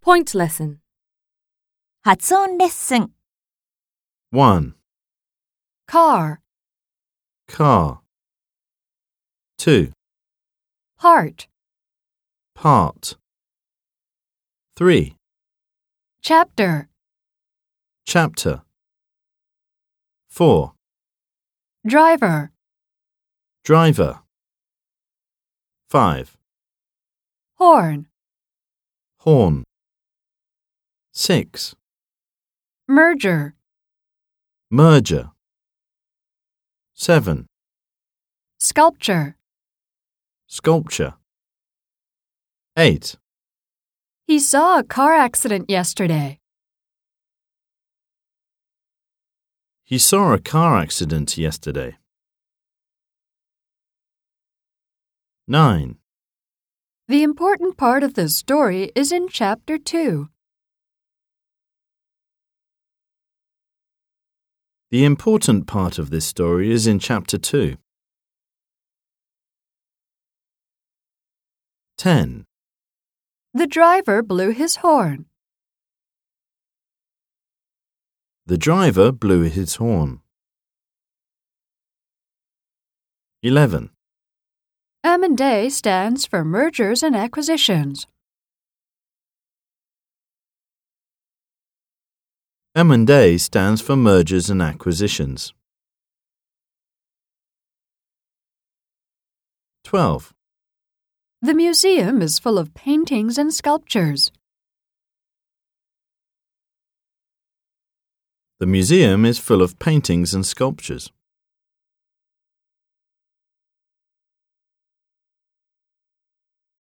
Point lesson. 発音レッスン 1. Car, Car. 2. part, Part. 3. chapter, Chapter. 4. driver, Driver. 5. horn, Horn. 6. merger, Merger. 7. sculpture. Sculpture. 8. He saw a car accident yesterday. He saw a car accident yesterday. 9. The important part of the story is in Chapter 2. The important part of this story is in Chapter 2. 10. The driver blew his horn. The driver blew his horn. 11. M&A stands for mergers and acquisitions. M&A stands for mergers and acquisitions. 12. The museum is full of paintings and sculptures. The museum is full of paintings and sculptures.